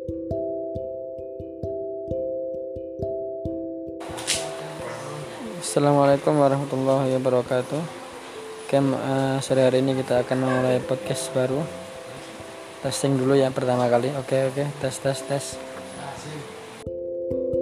Assalamualaikum warahmatullahi wabarakatuh. Sore hari ini kita akan memulai podcast baru. Testing dulu ya pertama kali. Oke, tes.